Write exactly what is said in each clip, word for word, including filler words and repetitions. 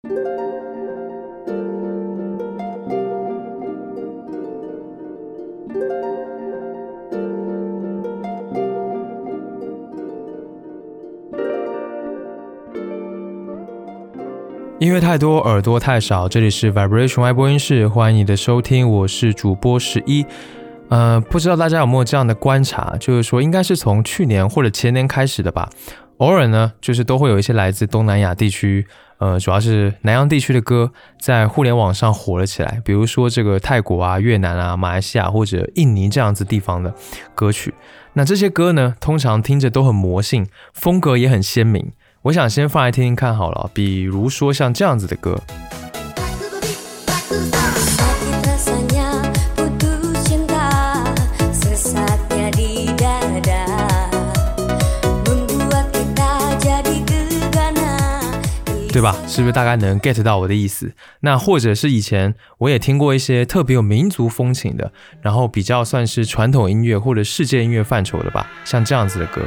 音乐太多，耳朵太少，这里是 Vibration Y 播音室，欢迎你的收听，我是主播十一。呃，不知道大家有没有这样的观察，就是说应该是从去年或者前年开始的吧，偶尔呢，就是都会有一些来自东南亚地区，呃，主要是南洋地区的歌，在互联网上火了起来，比如说这个泰国啊、越南啊、马来西亚或者印尼这样子地方的歌曲。那这些歌呢，通常听着都很魔性，风格也很鲜明。我想先放来听听看好了，比如说像这样子的歌。对吧？是不是大概能 get 到我的意思？那或者是以前我也听过一些特别有民族风情的，然后比较算是传统音乐或者世界音乐范畴的吧，像这样子的歌。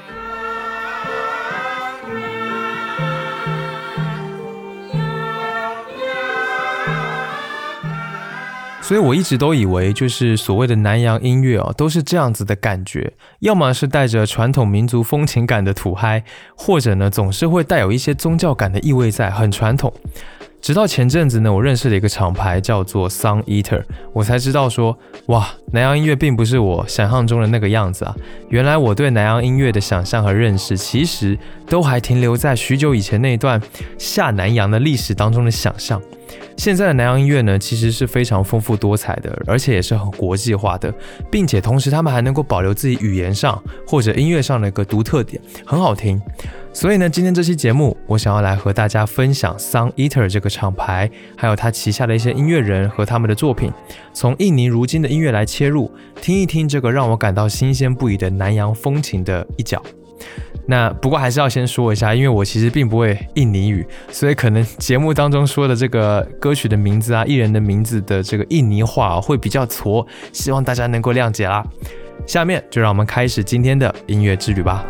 所以我一直都以为，就是所谓的南洋音乐哦，都是这样子的感觉，要么是带着传统民族风情感的土嗨，或者呢总是会带有一些宗教感的意味在，很传统。直到前阵子呢，我认识了一个厂牌叫做 Sun Eater， 我才知道说，哇，南洋音乐并不是我想象中的那个样子啊！原来我对南洋音乐的想象和认识，其实都还停留在许久以前那一段下南洋的历史当中的想象。现在的南洋音乐呢，其实是非常丰富多彩的，而且也是很国际化的，并且同时他们还能够保留自己语言上或者音乐上的一个独特点，很好听。所以呢，今天这期节目，我想要来和大家分享 Sun Eater 这个厂牌，还有他旗下的一些音乐人和他们的作品，从印尼如今的音乐来切入，听一听这个让我感到新鲜不已的南洋风情的一角。那不过还是要先说一下，因为我其实并不会印尼语，所以可能节目当中说的这个歌曲的名字啊、艺人的名字的这个印尼话、啊、会比较挫，希望大家能够谅解啦。下面就让我们开始今天的音乐之旅吧。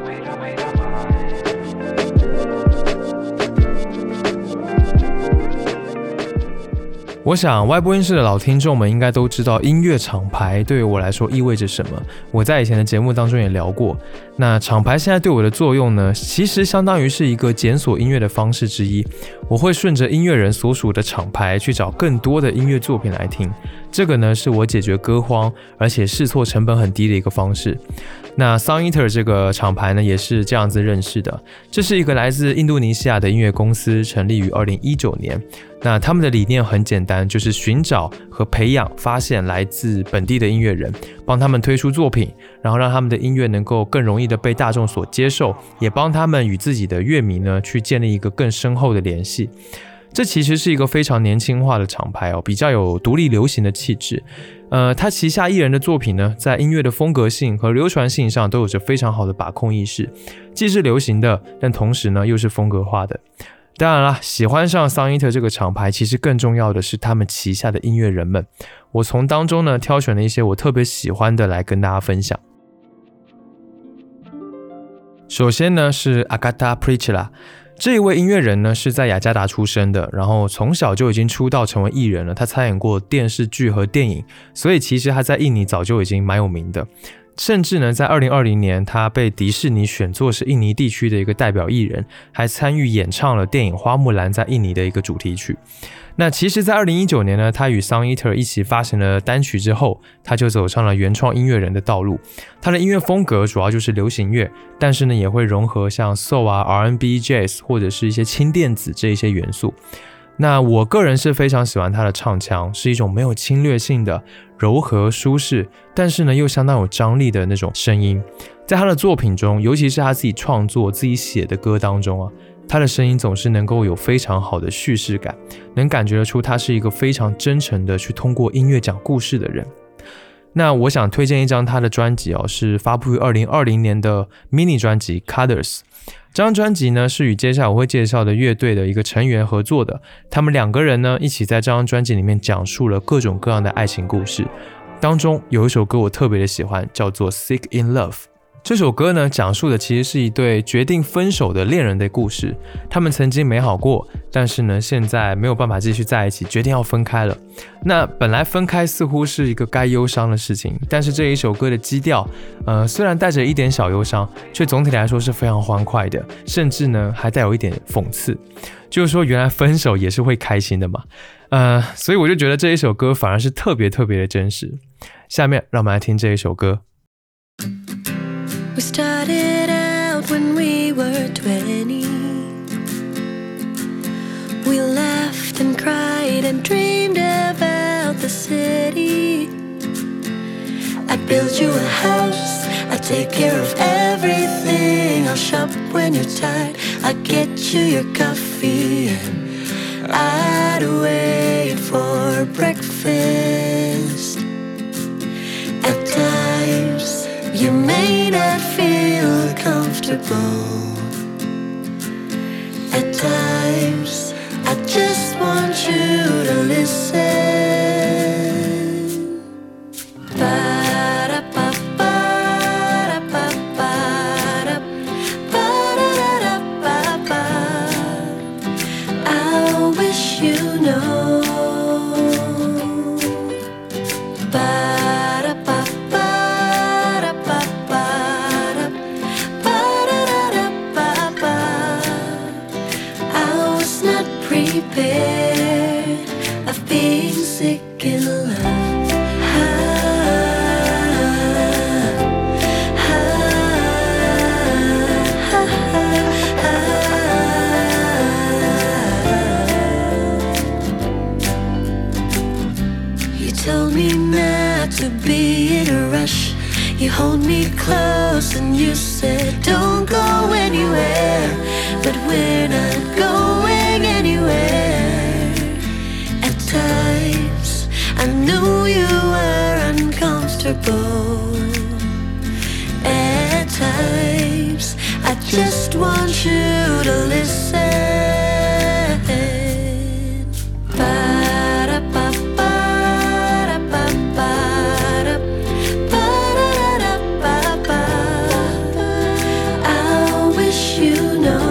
我想 Y 播音室的老听众们应该都知道音乐厂牌对于我来说意味着什么，我在以前的节目当中也聊过。那厂牌现在对我的作用呢，其实相当于是一个检索音乐的方式之一，我会顺着音乐人所属的厂牌去找更多的音乐作品来听，这个呢是我解决歌荒而且试错成本很低的一个方式。那 Sun Eater 这个厂牌呢，也是这样子认识的。这是一个来自印度尼西亚的音乐公司，成立于二零一九年。那他们的理念很简单，就是寻找和培养、发现来自本地的音乐人，帮他们推出作品，然后让他们的音乐能够更容易的被大众所接受，也帮他们与自己的乐迷呢去建立一个更深厚的联系。这其实是一个非常年轻化的厂牌哦，比较有独立流行的气质。呃，他旗下艺人的作品呢，在音乐的风格性和流传性上都有着非常好的把控意识，既是流行的，但同时呢又是风格化的。当然啦，喜欢上 Sun Eater 这个厂牌，其实更重要的是他们旗下的音乐人们。我从当中呢挑选了一些我特别喜欢的来跟大家分享。首先呢是 Agatha Preachela。这一位音乐人呢是在雅加达出生的，然后从小就已经出道成为艺人了。他参演过电视剧和电影，所以其实他在印尼早就已经蛮有名的。甚至呢，在二零二零年，他被迪士尼选作是印尼地区的一个代表艺人，还参与演唱了电影《花木兰》在印尼的一个主题曲。那其实在二零一九年呢，他与 Sun Eater 一起发行了单曲之后，他就走上了原创音乐人的道路。他的音乐风格主要就是流行乐，但是呢也会融合像 Soul 啊、R and B、Jazz 或者是一些轻电子这一些元素。那我个人是非常喜欢他的唱腔，是一种没有侵略性的柔和舒适，但是呢又相当有张力的那种声音。在他的作品中，尤其是他自己创作自己写的歌当中啊，他的声音总是能够有非常好的叙事感，能感觉得出他是一个非常真诚的去通过音乐讲故事的人。那我想推荐一张他的专辑哦，是发布于二零二零年的 mini 专辑 Colors。这张专辑呢是与接下来我会介绍的乐队的一个成员合作的，他们两个人呢一起在这张专辑里面讲述了各种各样的爱情故事。当中有一首歌我特别的喜欢，叫做 Sick in Love。 这首歌呢，讲述的其实是一对决定分手的恋人的故事。他们曾经美好过，但是呢，现在没有办法继续在一起，决定要分开了。那本来分开似乎是一个该忧伤的事情，但是这一首歌的基调，呃，虽然带着一点小忧伤，却总体来说是非常欢快的，甚至呢，还带有一点讽刺。就是说，原来分手也是会开心的嘛。呃，所以我就觉得这一首歌反而是特别特别的真实。下面让我们来听这一首歌。 We started out when we were twenty. We laughed and cried and dreamed about the city. I'd build you a house, I'd take care of everything. I'll shop when you're tired, I'd get you your coffee, and I'd wait for breakfast. At times you may not feel comfortable. At times, I just want you to listen. Ba-da-ba-ba-da-ba-ba-da, ba-da-da-da-ba-ba. I wish you know. Of being sick in love. Ah, ah, ah, ah, ah. You told me not to be in a rush. You hold me close and you said don't go anywhere. But we're not going anywhere. At times I knew you were uncomfortable. At times I just want you to listen. Ba-da-ba-ba-da-ba-ba-da, ba-da-da-da-ba-ba. I wish you know.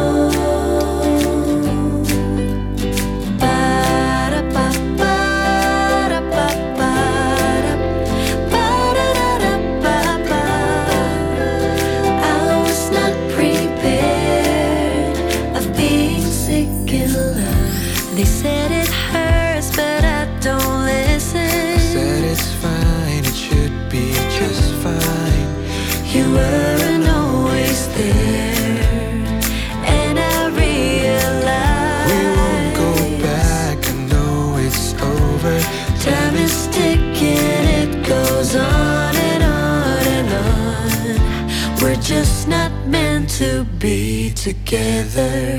They said it hurts, but I don't listen. Said it's fine, it should be just fine. You weren't always there, and I realized we won't go back, I know it's over. Time is ticking, it goes on and on and on. We're just not meant to be together.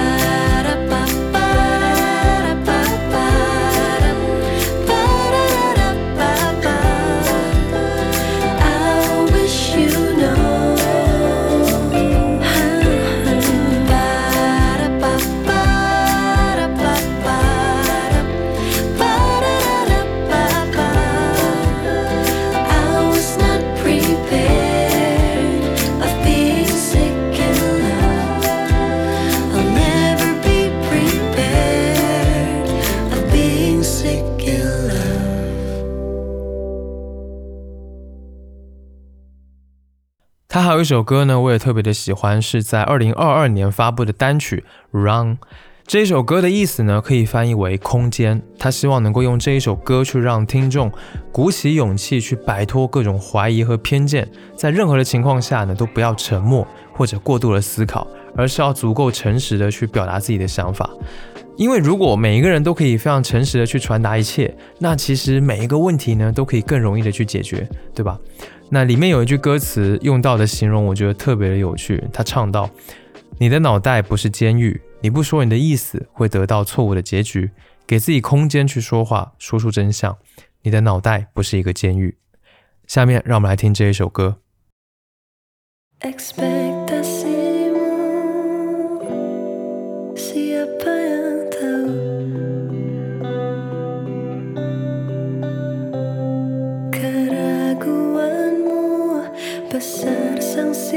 love。他还有一首歌呢，我也特别的喜欢，是在二零二二年发布的单曲 Run。 这一首歌的意思呢，可以翻译为空间。他希望能够用这一首歌去让听众鼓起勇气去摆脱各种怀疑和偏见，在任何的情况下呢，都不要沉默或者过度的思考，而是要足够诚实的去表达自己的想法。因为如果每一个人都可以非常诚实的去传达一切，那其实每一个问题呢，都可以更容易的去解决，对吧？那里面有一句歌词用到的形容，我觉得特别的有趣。他唱到：你的脑袋不是监狱，你不说你的意思会得到错误的结局，给自己空间去说话，说出真相。你的脑袋不是一个监狱。下面让我们来听这一首歌。 Besar sanksi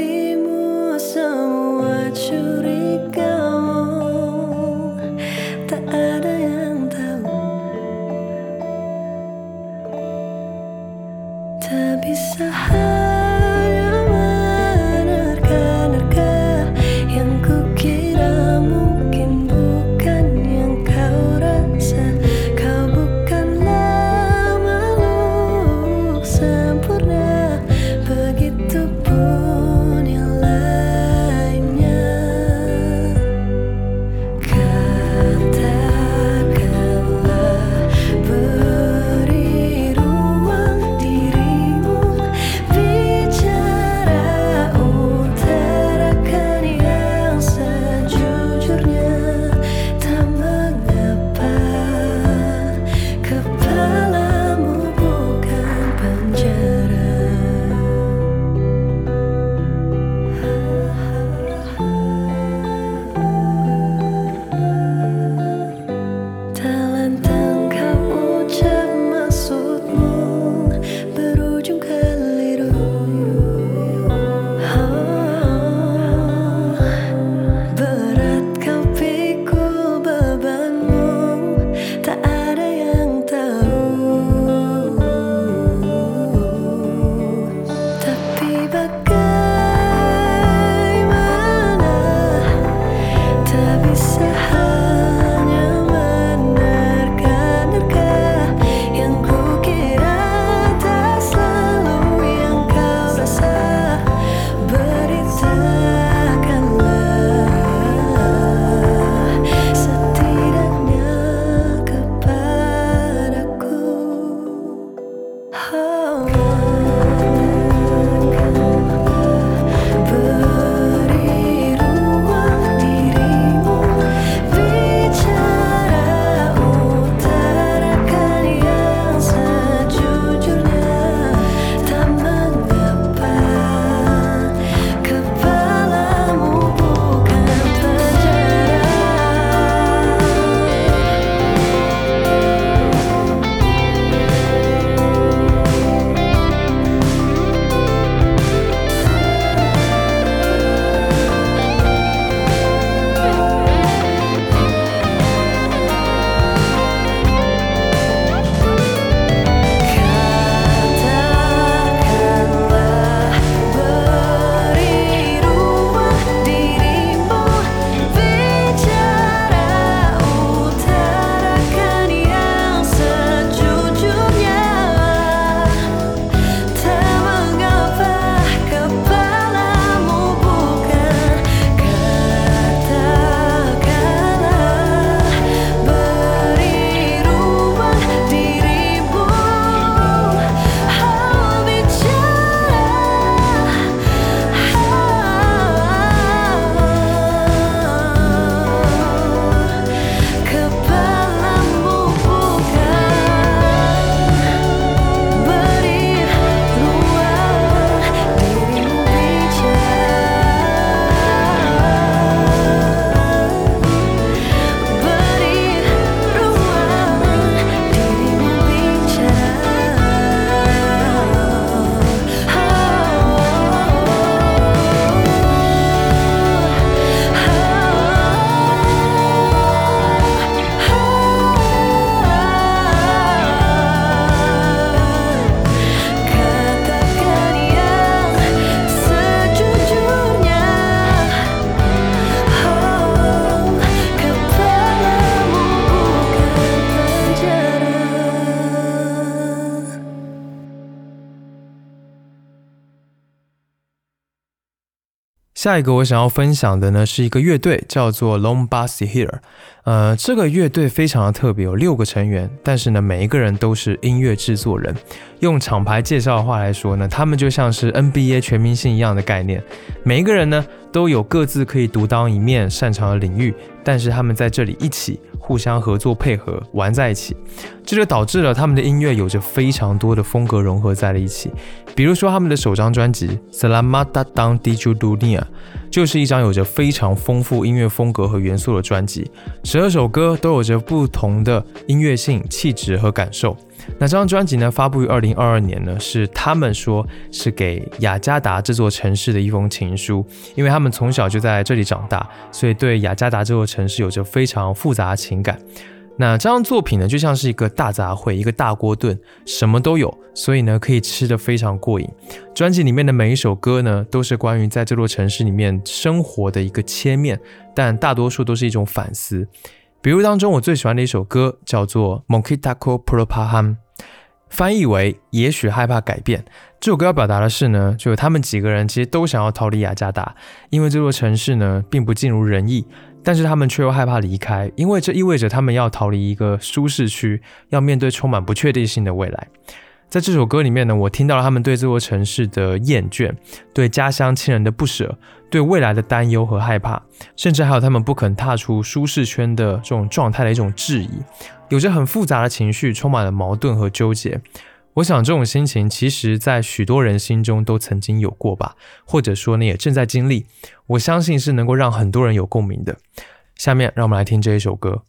下一个我想要分享的呢是一个乐队，叫做 Lombasihir。呃，这个乐队非常的特别，有六个成员，但是呢，每一个人都是音乐制作人。用厂牌介绍的话来说呢，他们就像是 N B A 全明星一样的概念，每一个人呢都有各自可以独当一面、擅长的领域，但是他们在这里一起互相合作配合，玩在一起，这就导致了他们的音乐有着非常多的风格融合在了一起。比如说他们的首张专辑《Selamat Datang di Dunia》就是一张有着非常丰富音乐风格和元素的专辑，十二首歌都有着不同的音乐性、气质和感受。那这张专辑呢，发布于二零二二年呢，是他们说是给雅加达这座城市的一封情书，因为他们从小就在这里长大，所以对雅加达这座城市有着非常复杂的情感。那这张作品呢，就像是一个大杂烩，一个大锅炖，什么都有，所以呢，可以吃得非常过瘾。专辑里面的每一首歌呢，都是关于在这座城市里面生活的一个切面，但大多数都是一种反思。比如当中我最喜欢的一首歌叫做 Mungkin Takut Perubahan， 翻译为也许害怕改变。这首歌要表达的是呢，就他们几个人其实都想要逃离雅加达，因为这座城市呢并不尽如人意，但是他们却又害怕离开，因为这意味着他们要逃离一个舒适区，要面对充满不确定性的未来。在这首歌里面呢，我听到了他们对这座城市的厌倦，对家乡亲人的不舍，对未来的担忧和害怕，甚至还有他们不肯踏出舒适圈的这种状态的一种质疑，有着很复杂的情绪，充满了矛盾和纠结。我想这种心情其实在许多人心中都曾经有过吧，或者说呢也正在经历，我相信是能够让很多人有共鸣的。下面让我们来听这一首歌。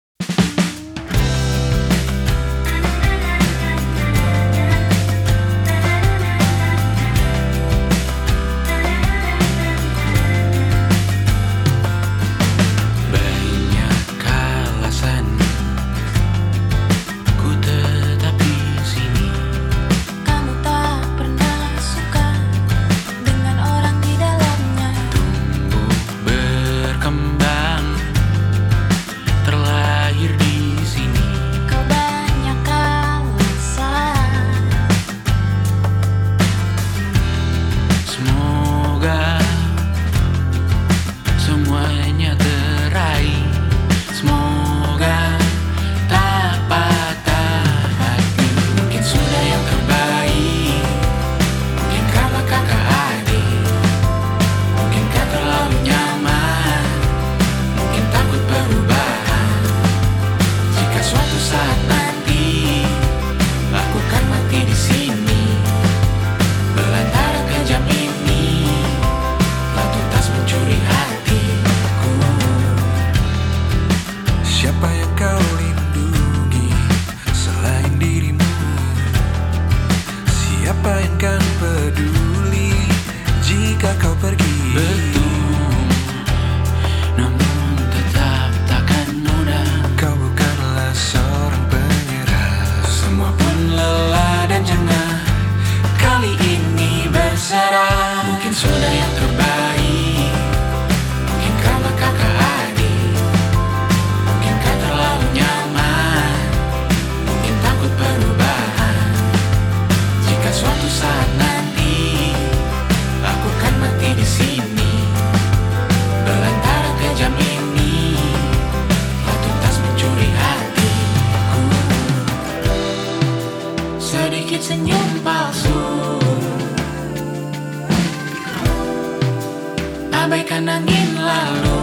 Abaikan angin lalu,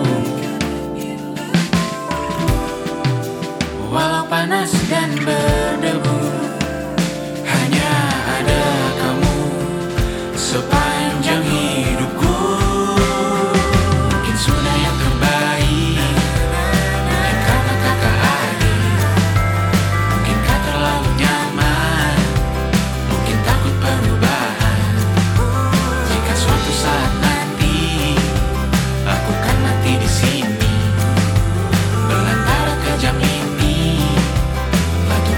walau panas dan berdebu, hanya ada kamu sepanjang hidupku. Mungkin sudah yang terbaik, mungkin karena kakak adik, mungkinkah terlalu nyaman, mungkin takut perubahan. Jika suatu saat aku kan mati di sini, belantara kejam ini, batu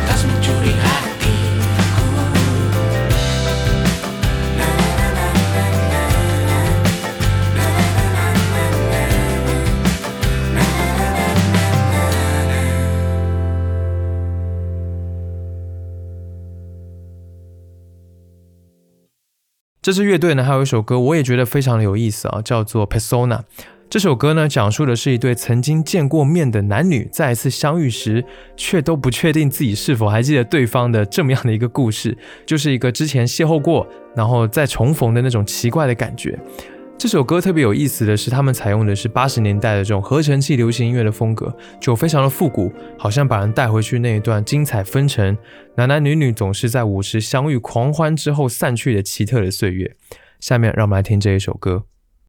这支乐队呢还有一首歌我也觉得非常的有意思啊，叫做 Persona。 这首歌呢讲述的是一对曾经见过面的男女再一次相遇时却都不确定自己是否还记得对方的这么样的一个故事，就是一个之前邂逅过然后再重逢的那种奇怪的感觉。这首歌特别有意思的是，他们采用的是八十年代的这种合成器流行音乐的风格，就非常的复古，好像把人带回去那一段精彩纷呈，男男女女总是在舞池相遇狂欢之后散去的奇特的岁月。下面让我们来听这一首歌。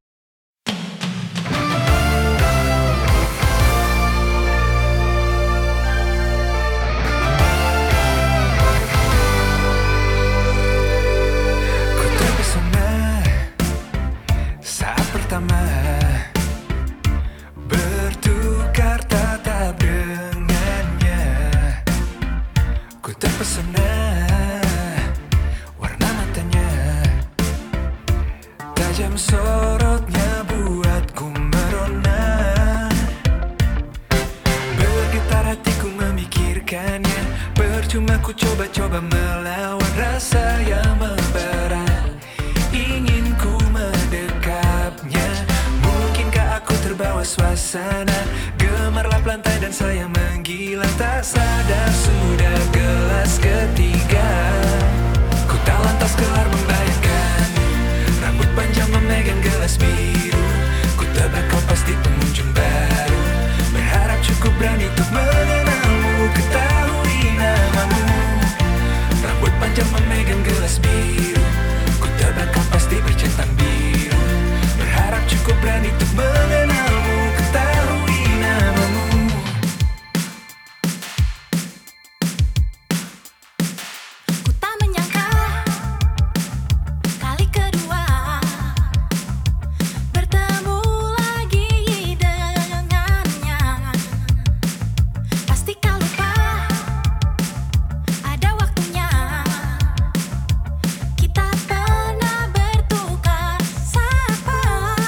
Bertukar tatap dengannya, ku terpesona warna matanya, tajam sorotnya buatku merona. Bergetar hatiku memikirkannya, percuma ku coba-coba melawan rasa yang membara. Ingin ku mendekapnya, mungkinkah aku terbawa suasana, gemerlap lantai dan saya menggila, tak sadar sudah gelas ketiga. Ku tak lantas kelar membayangkan, rambut panjang memegang gelas biru, ku tebak kau pasti pengunjung baru, berharap cukup berani untuk mengenalmu, ketahui namamu. Rambut panjang memegang gelas biru, ku tebak kau pasti bercentang biru, berharap cukup berani untuk mengenalmu, ketahui namamu. Ku tak menyangka kali kedua bertemu lagi dengannya. Pasti kau lupa ada waktunya kita pernah bertukar sapa.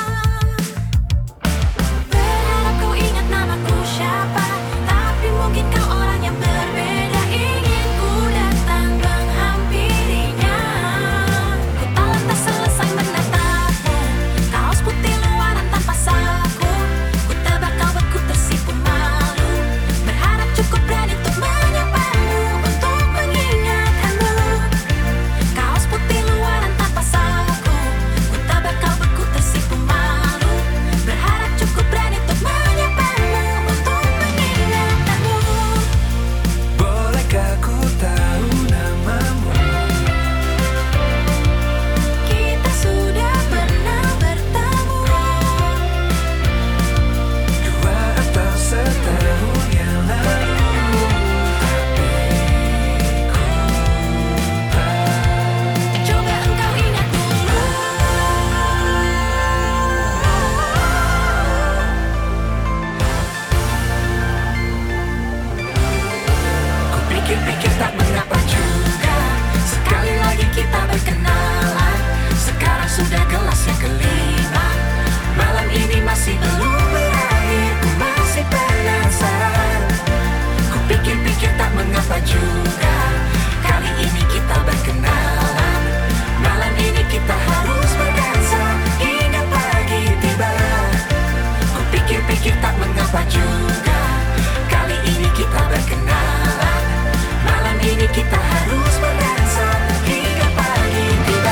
Berharap kau ingat namaku siapa, tapi mungkin kau orang yang berbeda. Ingin ku datang menghampirinya, ku tak lantas selesai menatapmu, kaos putih luaran tanpa saku, ku tebak kau beku tersipu malu, berharap cukup berani untuk menyapamu, untuk mengingatkanmu. Kaos putih luaran tanpa saku, ku tebak kau beku tersipu malu, berharap cukup berani untuk menyapamu, untuk mengingatkanmu. Bolehkah ku tahu namamu? Kita sudah pernah bertemu, Dua atau setahun yang lalu, tapi ku tak. coba engkau ingat dulu. Ku pikir-pikir tak mengapa juga, sekali lagi kita berkenalan, sekarang sudah gelas yang kelima, malam ini masih belum berakhir, ku masih penasaran. Ku pikir-pikir tak mengapa juga, kali ini kita berkenalan, malam ini kita harus berdansa hingga pagi tiba. Ku pikir-pikir tak mengapa juga, kali ini kita berkenalan, malam ini kita harus berdansa hingga pagi tiba.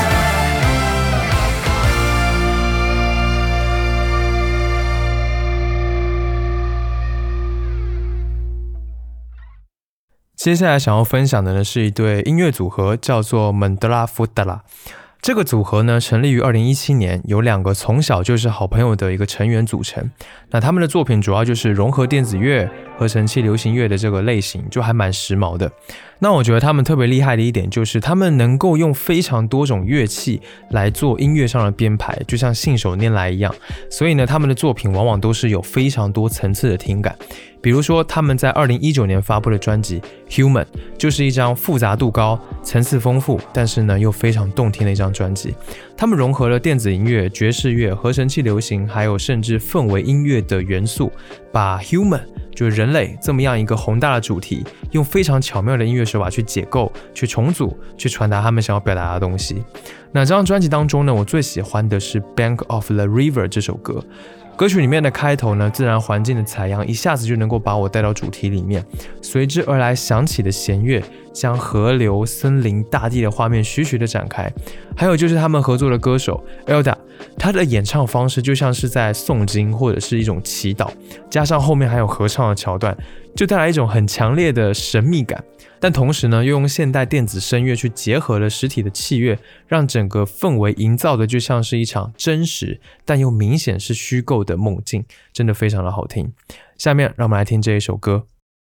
接下来想要分享的呢是一对音乐组合，叫做 Mandala Futala。这个组合呢成立于二零一七年，由两个从小就是好朋友的一个成员组成。那他们的作品主要就是融合电子乐、合成器流行乐的这个类型，就还蛮时髦的。那我觉得他们特别厉害的一点就是他们能够用非常多种乐器来做音乐上的编排，就像信手拈来一样。所以呢，他们的作品往往都是有非常多层次的听感。比如说他们在二零一九年发布的专辑 Human 就是一张复杂度高、层次丰富，但是呢又非常动听的一张专辑。他们融合了电子音乐、爵士乐、合成器流行，还有甚至氛围音乐的元素，把 Human 就是人类这么样一个宏大的主题，用非常巧妙的音乐手法去解构、去重组、去传达他们想要表达的东西。那这张专辑当中呢，我最喜欢的是《Bank of the River》这首歌。歌曲里面的开头呢，自然环境的采样一下子就能够把我带到主题里面，随之而来响起的弦乐将河流、森林、大地的画面徐徐的展开。还有就是他们合作的歌手 Elda， 他的演唱方式就像是在诵经或者是一种祈祷，加上后面还有合唱的桥段，就带来一种很强烈的神秘感。但同时呢，又用现代电子声乐去结合了实体的器乐，让整个氛围营造的就像是一场真实但又明显是虚构的梦境，真的非常的好听。下面让我们来听这一首歌。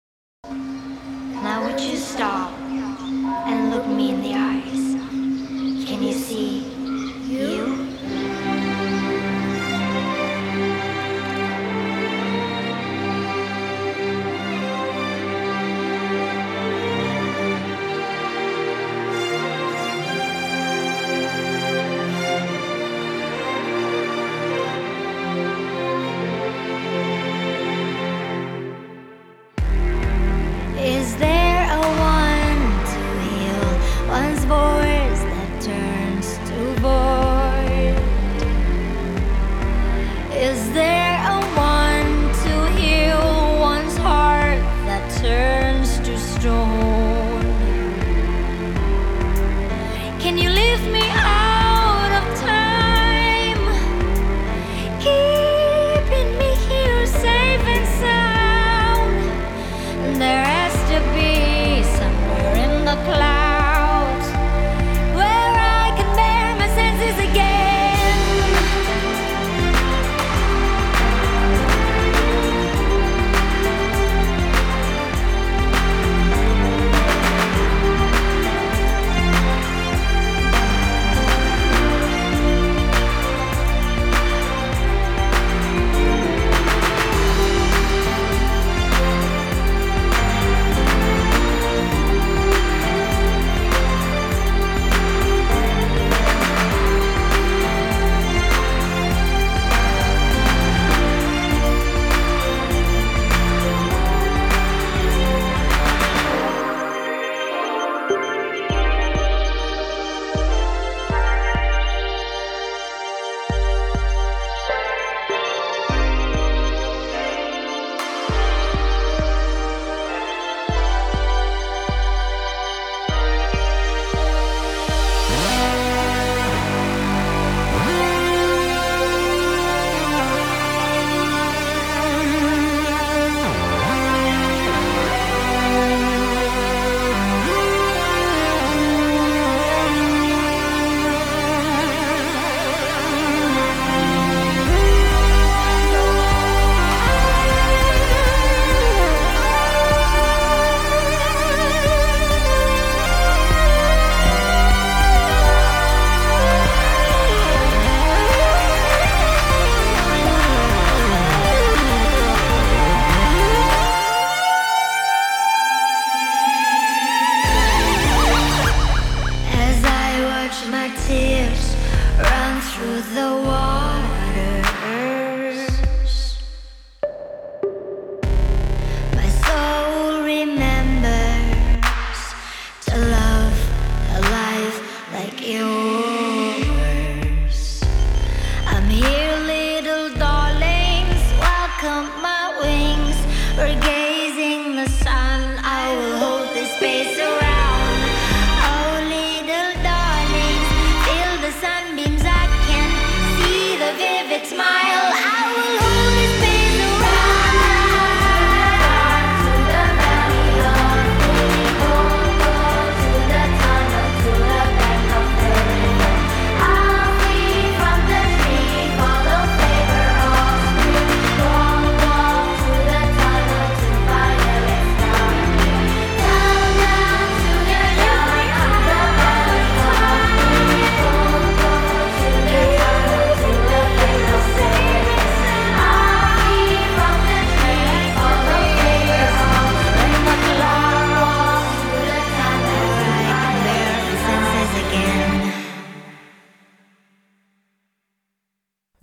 Now would you stop and look me in the eyes? Can you see you? Is there a one to heal one's voice that turns to void?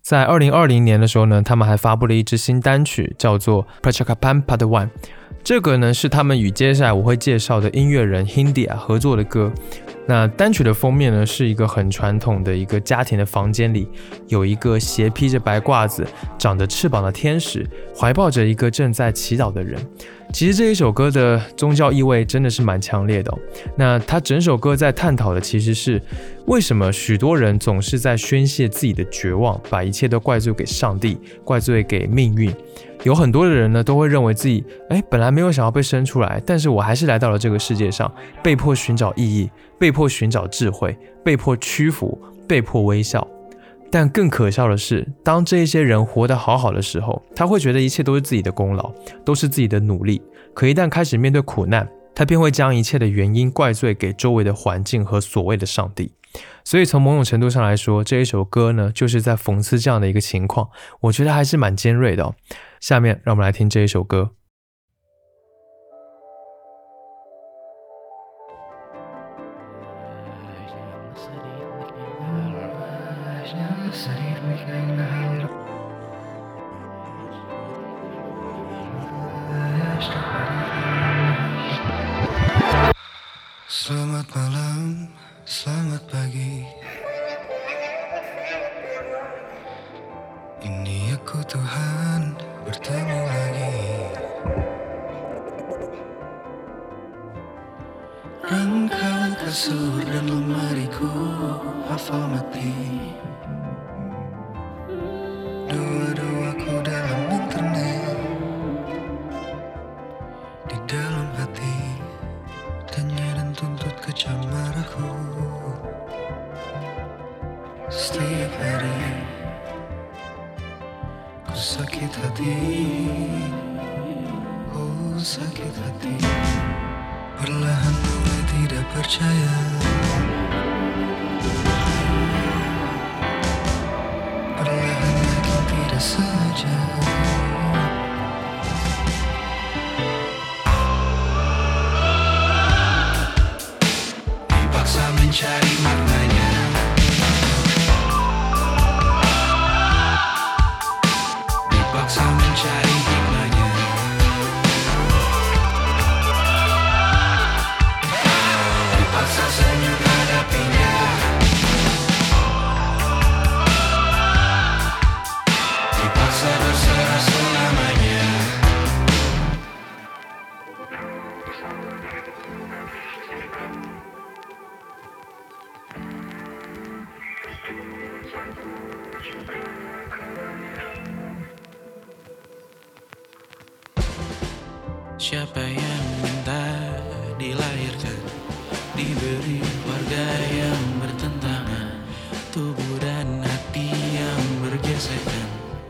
在二零二零年的时候呢，他们还发布了一支新单曲，叫做 Percakapan Part One。这个呢是他们与接下来我会介绍的音乐人 Hindia 合作的歌。那单曲的封面呢是一个很传统的一个家庭的房间里，有一个斜披着白褂子、长着翅膀的天使，怀抱着一个正在祈祷的人。其实这一首歌的宗教意味真的是蛮强烈的哦。那他整首歌在探讨的其实是为什么许多人总是在宣泄自己的绝望，把一切都怪罪给上帝，怪罪给命运。有很多的人呢都会认为自己哎本来没有想要被生出来，但是我还是来到了这个世界上，被迫寻找意义，被迫寻找智慧，被迫屈服，被迫微笑。但更可笑的是，当这些人活得好好的时候，他会觉得一切都是自己的功劳，都是自己的努力。可一旦开始面对苦难，他便会将一切的原因怪罪给周围的环境和所谓的上帝。所以从某种程度上来说，这一首歌呢，就是在讽刺这样的一个情况，我觉得还是蛮尖锐的哦。下面让我们来听这一首歌。 Selamat malam, selamat pagi. Ini aku Tuhan bertemu lagi. Rangka kasur dan lemariku hafal mati. Doa-doaku dalam internet, di dalam hati, tanya dan tuntut kecamar aku. Setiap hari ku sakit hati, oh sakit hati. Perlahan mulai tidak percaya, perlahan yakin tidak saja. Dipaksa mencari maknanya, dipaksa mencari hikmahnya. Dipaksa senyum hadapinya, dipaksa berserah selamanya. Siapa yang minta dilahirkan, diberi warga yang bertentangan, tubuh dan hati yang bergesekan.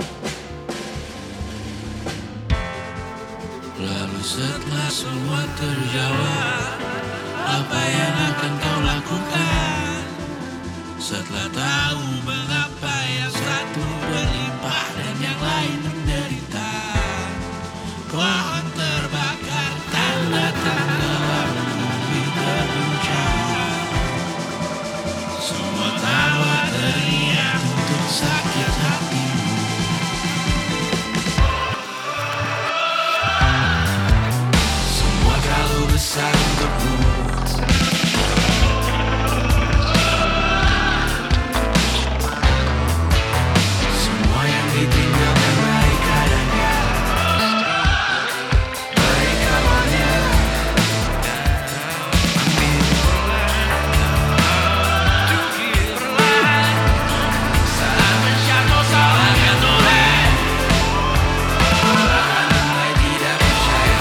Lalu setelah semua terjawab, apa yang akan kau lakukan? Setelah tahu mengapa yang satu berlimpah dan yang lain menderita, kau akan terbakar tanda-tanda lalu bumi terguncang. Semua tawa teriak untuk sakit hatimu. Semua galau besar untukmu. Semua yang ditinggalkan baik adanya, baik awalnya. Ambil perlahan, saat menjatuh salahkan oleh. Perlahan mulai tidak percaya,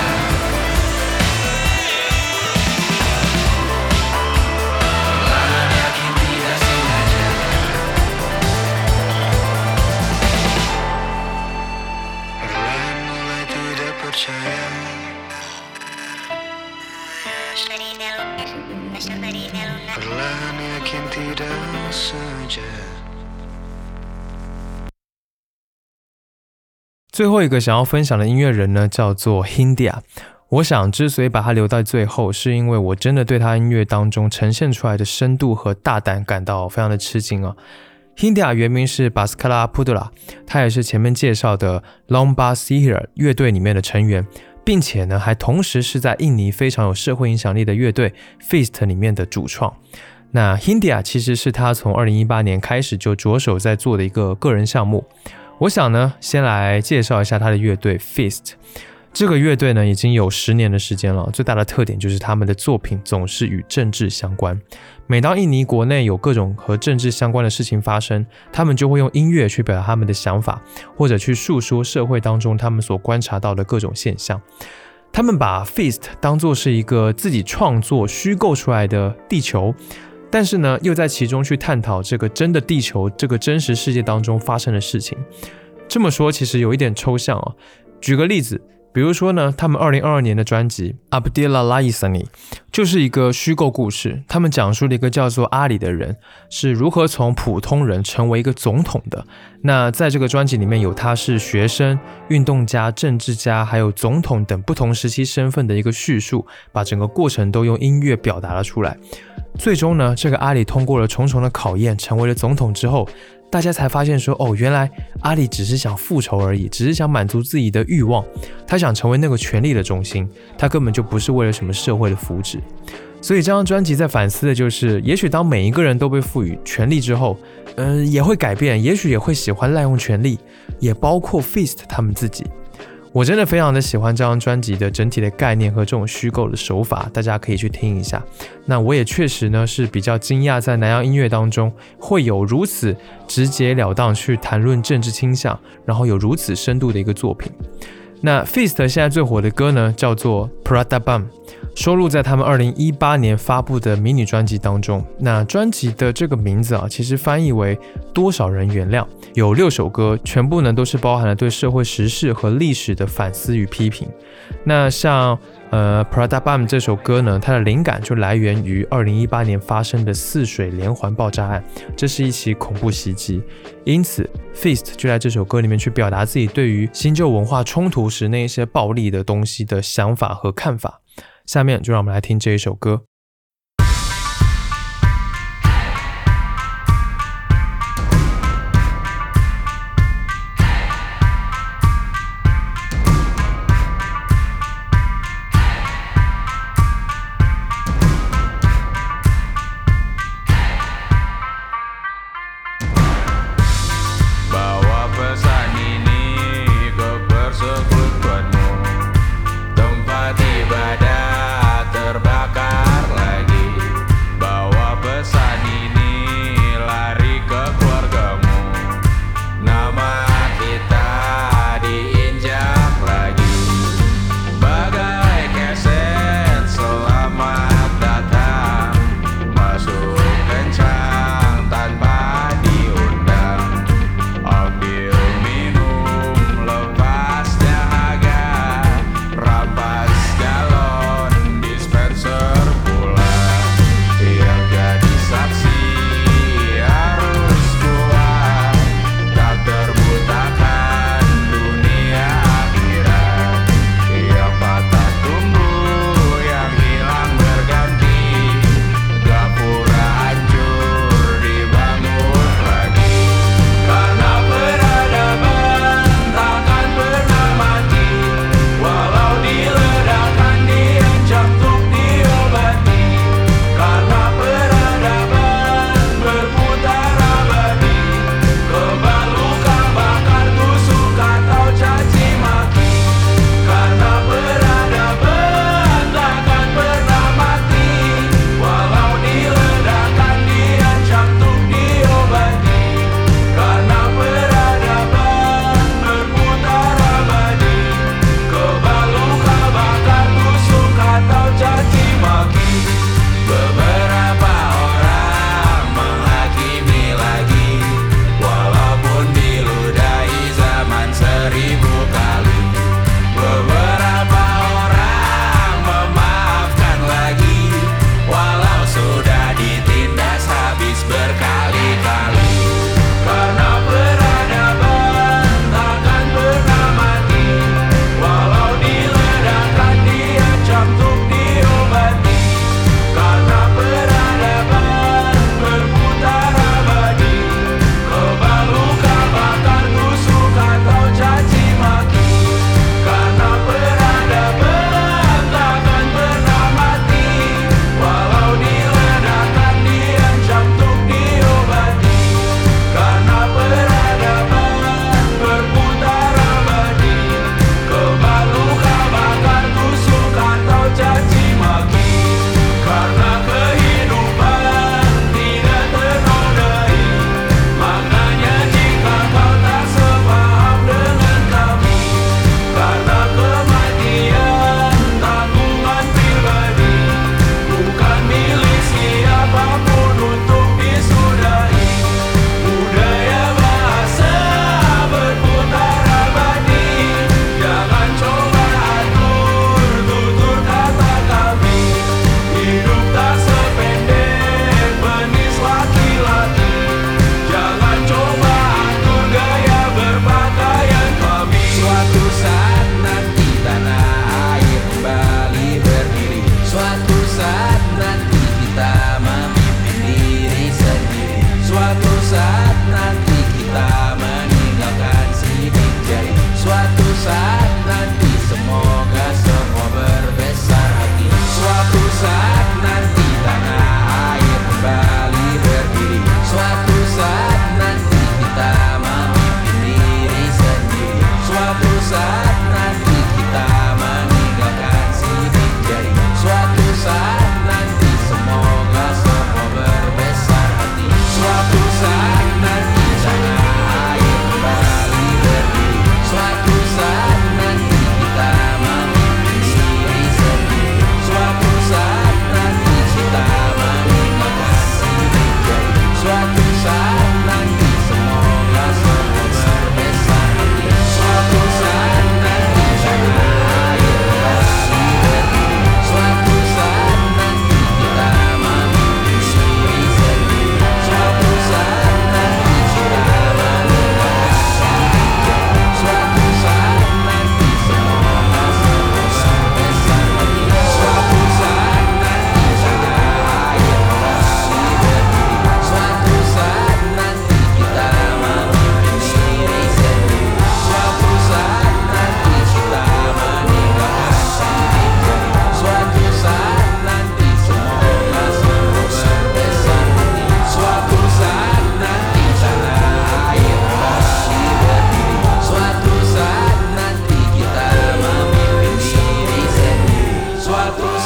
perlahan yakin tidak sengaja. Perlahan mulai tidak percaya, perlahan yakin tidak sengaja. 最后一个想要分享的音乐人呢，叫做 Hindia。我想之所以把他留到最后，是因为我真的对他音乐当中呈现出来的深度和大胆感到非常的吃惊啊。 Hindia 原名是 Baskara Pudra， 他也是前面介绍的 Lomba Sihir 乐队里面的成员，并且呢还同时是在印尼非常有社会影响力的乐队 Feast 里面的主创。那 Hindia 其实是他从二零一八年开始就着手在做的一个个人项目。我想呢先来介绍一下他的乐队 Feast。这个乐队呢已经有十年的时间了，最大的特点就是他们的作品总是与政治相关。每当印尼国内有各种和政治相关的事情发生，他们就会用音乐去表达他们的想法，或者去述说社会当中他们所观察到的各种现象。他们把 Feast 当作是一个自己创作虚构出来的地球，但是呢又在其中去探讨这个真的地球这个真实世界当中发生的事情。这么说其实有一点抽象哦。举个例子，比如说呢，他们二零二二年的专辑 Abdillah Laisani 就是一个虚构故事，他们讲述了一个叫做阿里的人是如何从普通人成为一个总统的。那在这个专辑里面有他是学生、运动家、政治家还有总统等不同时期身份的一个叙述，把整个过程都用音乐表达了出来。最终呢，这个阿里通过了重重的考验，成为了总统之后，大家才发现说，哦，原来阿里只是想复仇而已，只是想满足自己的欲望，他想成为那个权力的中心，他根本就不是为了什么社会的福祉。所以这张专辑在反思的就是，也许当每一个人都被赋予权力之后，嗯、呃，也会改变，也许也会喜欢滥用权力，也包括 Feast 他们自己。我真的非常的喜欢这张专辑的整体的概念和这种虚构的手法，大家可以去听一下。那我也确实呢是比较惊讶，在南洋音乐当中会有如此直截了当去谈论政治倾向，然后有如此深度的一个作品。那 Feast 现在最火的歌呢叫做 Pradabam， 收录在他们二零一八年发布的迷你专辑当中。那专辑的这个名字啊，其实翻译为多少人原谅，有六首歌，全部呢都是包含了对社会时事和历史的反思与批评。那像呃 Pradabam 这首歌呢，它的灵感就来源于二零一八年发生的泗水连环爆炸案，这是一起恐怖袭击。因此 Feast 就在这首歌里面去表达自己对于新旧文化冲突时那一些暴力的东西的想法和看法。下面就让我们来听这一首歌。 Ibadah terbakar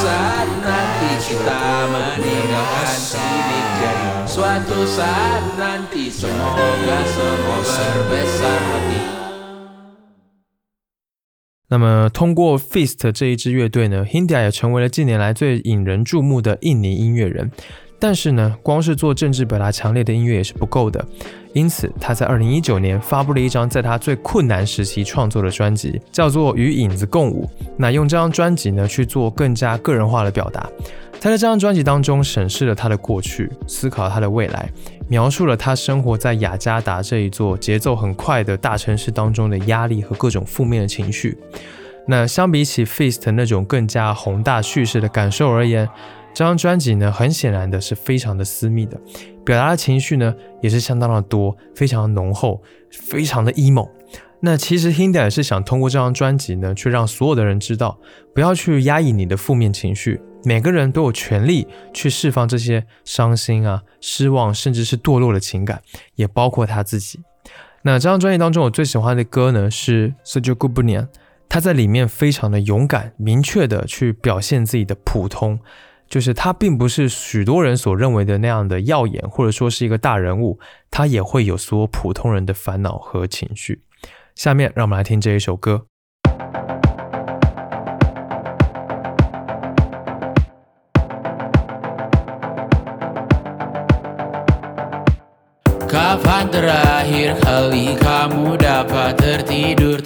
saat nanti kita meninggalkan sidik jari, suatu saat nanti semoga semua berbesar hati。 那么通过 Feast 这一支乐队呢 Hindia 也成为了近年来最引人注目的印尼音乐人。但是呢，光是做政治表达强烈的音乐也是不够的，因此他在二零一九年发布了一张在他最困难时期创作的专辑，叫做《与影子共舞》。那用这张专辑呢去做更加个人化的表达。他在这张专辑当中审视了他的过去，思考他的未来，描述了他生活在雅加达这一座节奏很快的大城市当中的压力和各种负面的情绪。那相比起 Feast 那种更加宏大叙事的感受而言，这张专辑呢，很显然的是非常的私密的，表达的情绪呢也是相当的多，非常的浓厚，非常的 emo。那其实 Hindia 也是想通过这张专辑呢，去让所有的人知道，不要去压抑你的负面情绪，每个人都有权利去释放这些伤心啊、失望，甚至是堕落的情感，也包括他自己。那这张专辑当中，我最喜欢的歌呢是 Sejujurnya， 他在里面非常的勇敢、明确的去表现自己的普通。就是他并不是许多人所认为的那样的耀眼，或者说是一个大人物，他也会有所有普通人的烦恼和情绪。下面让我们来听这一首歌。 Kapan terakhir kali kamu dapat tertidur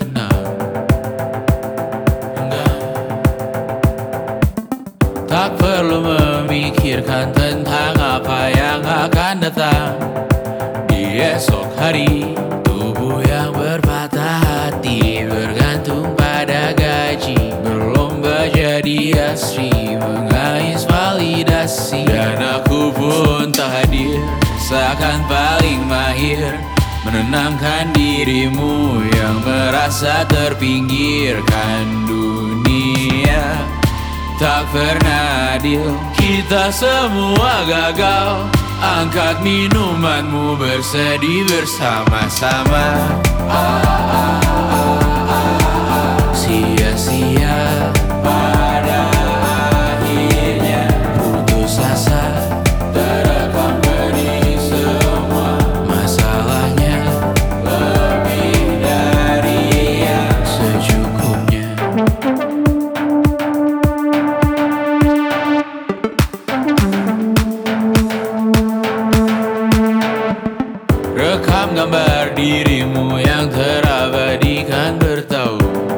tenang?Tak perlu memikirkan tentang apa yang akan datang di esok hari. Tubuh yang berpatah hati bergantung pada gaji, berlomba jadi asri, mengais validasi. Dan aku pun tak hadir, seakan paling mahir menenangkan dirimu yang merasa terpinggirkan dunia.Tak pernah adil, kita semua gagal. Angkat minumanmu, bersedih bersama-sama. Sia-sia pada akhirnya putus asa, terekam pedih semua. Masalahnya lebih dari yang secukupnya.Rekam gambar dirimu yang terabadikan bertahu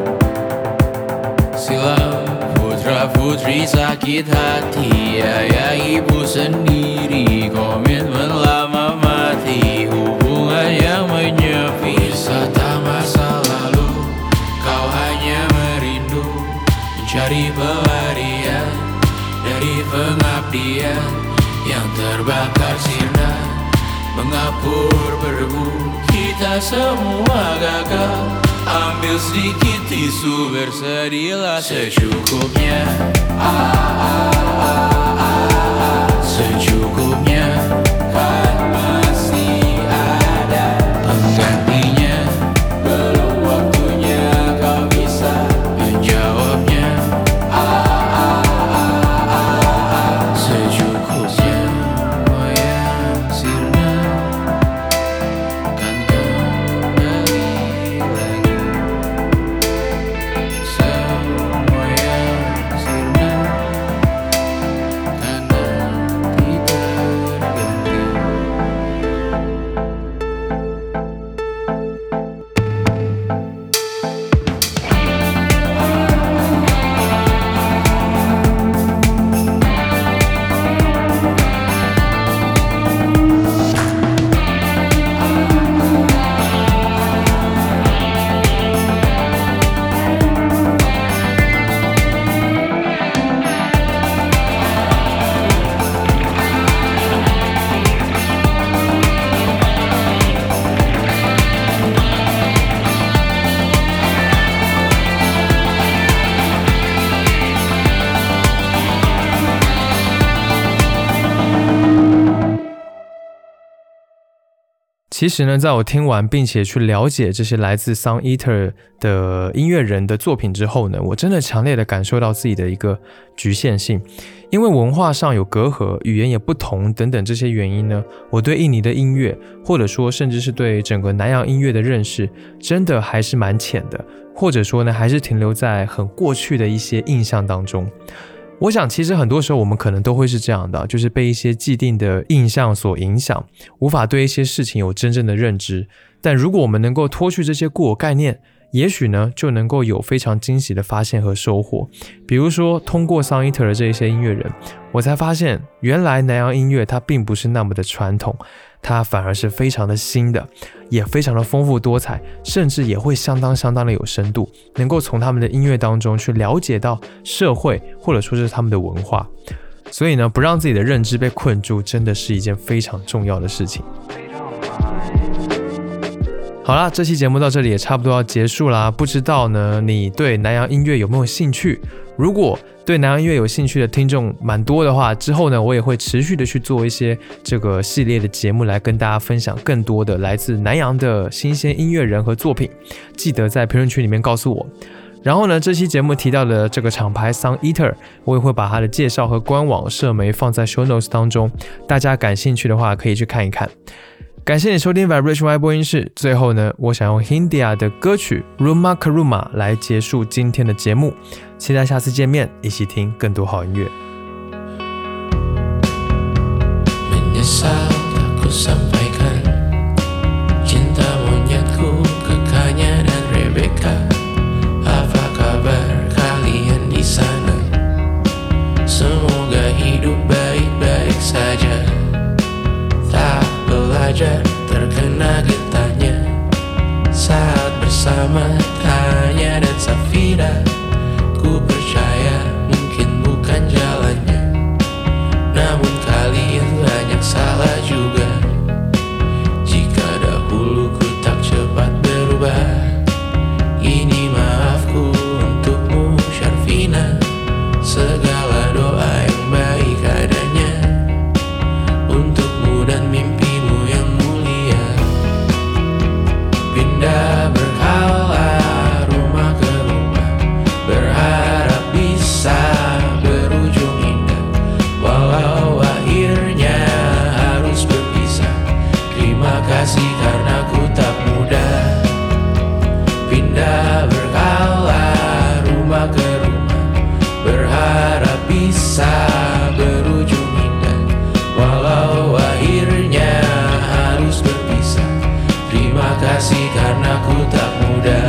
silam putra-putri sakit hati, ayah ibu sendiri, komitmen lama mati, hubungan yang menyepi, wisata masa lalu, kau hanya merindu mencari pelarian dari pengabdian yang terbakar sirna.Mengapur berdebu, kita semua gagal. Ambil sedikit tisu, bersedihlah secukupnya. Ah, ah, ah, ah, secukupnya. Kan masih ada penggantinya. Belum waktunya kau bisa menjawabnya. Ah, ah, ah, ah, ah, secukupnya.Kan kembali lagi semua yang sirna. 其实呢，在我听完并且去了解这些来自 Sun Eater 的音乐人的作品之后呢，我真的强烈的感受到自己的一个局限性，因为文化上有隔阂，语言也不同等等这些原因呢，我对印尼的音乐，或者说甚至是对整个南洋音乐的认识，真的还是蛮浅的，或者说呢，还是停留在很过去的一些印象当中。我想其实很多时候我们可能都会是这样的，就是被一些既定的印象所影响，无法对一些事情有真正的认知。但如果我们能够脱去这些固有概念，也许呢就能够有非常惊喜的发现和收获。比如说通过 Sun Eater 的这些音乐人，我才发现原来南洋音乐它并不是那么的传统，它反而是非常的新的，也非常的丰富多彩，甚至也会相当相当的有深度，能够从他们的音乐当中去了解到社会或者说是他们的文化。所以呢，不让自己的认知被困住，真的是一件非常重要的事情。好啦，这期节目到这里也差不多要结束啦。不知道呢，你对南洋音乐有没有兴趣？如果对南洋音乐有兴趣的听众蛮多的话，之后呢，我也会持续的去做一些这个系列的节目，来跟大家分享更多的来自南洋的新鲜音乐人和作品。记得在评论区里面告诉我。然后呢，这期节目提到的这个厂牌 Sun Eater， 我也会把它的介绍和官网社媒放在 show notes 当中，大家感兴趣的话可以去看一看。感谢你收听 Vibration Y 播音室。最后呢，我想用 Hindia 的歌曲 Rumah ke Rumah 来结束今天的节目。期待下次见面，一起听更多好音乐。 Menyesal aku sampaikan cinta monyetku ke Kanya dan Rebecca. Apa kabar kalian di sana? Semoga hidup baik-baik saja. Tak belajar terkena getahnya saat bersama Tanya dan Safira. Ku percaya mungkin bukan jalannya, namun kalian banyak salah juga. Jika dahulu ku tak cepat berubah, ini maafku untukmu Syarfina. Segala doa yang baik adanya untukmu dan mimpimu yang mulia. Pindah berhala rumah ke rumah, berharap bisa berujung indah, walau akhirnya harus berpisah. Terima kasih karena ku tak mudah. Pindah berhala rumah ke rumah, berharap bisa berujung indah, walau akhirnya harus berpisah. Terima kasih karena ku tak mudah.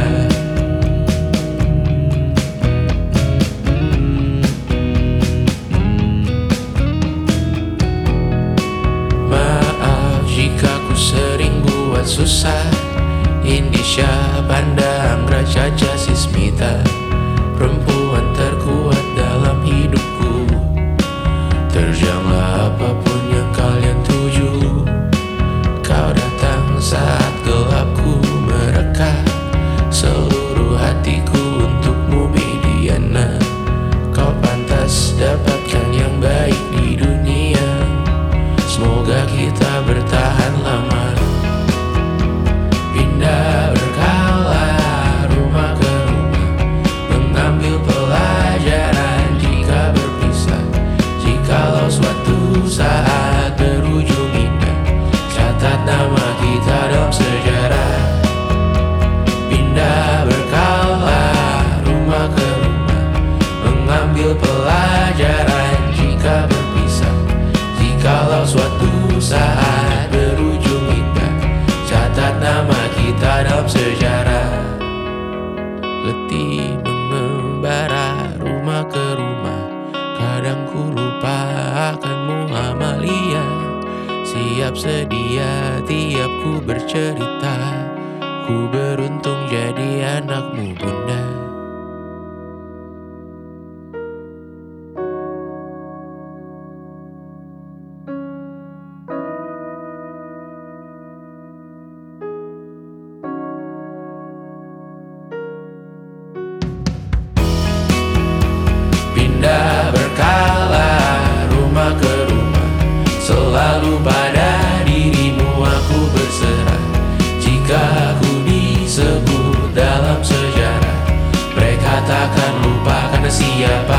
Maaf jika ku sering buat susah. Indisha, Panda, Anggra, Caca, Sismita, perempuan terkuat dalam hidupku. Terjanglah apapun yang kalian tuju. Kau datang saat gelapku mereka. Seluruh hatiku untukmu Bidiana. Kau pantas dapatkan yang baik di dunia. Semoga kita bertahan lama. Pindah berkala rumah ke rumah, mengambil pelajaran jika berpisah. Jikalau suatu saat berujung indah, catat nama kita dalam sejarah. Pindah berkala rumah ke rumah, mengambil pelajaran jika berpisah. Jikalau suatu saat berujung indah, catat nama kita dalam sejarah. Letih mengembara rumah ke rumah, kadang ku lupa akanmu Amalia. Siap sedia tiap ku bercerita, ku beruntung jadi anakmu bunda. Pindah berkala rumah ke rumah, selalu pada dirimu aku berserah. karena siapa.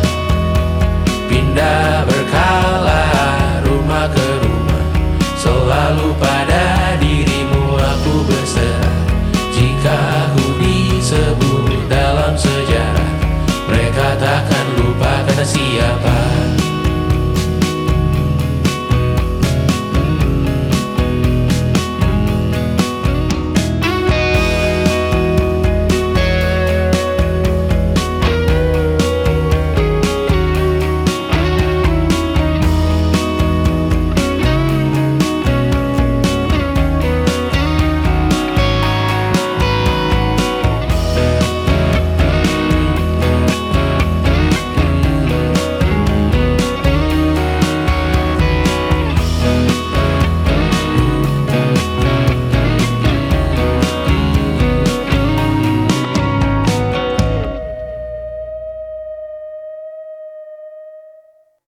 Pindah berkala, rumah ke rumah, selalu pada dirimu aku berserah. Jika aku disebut dalam sejarah, mereka takkan lupa karena siapa.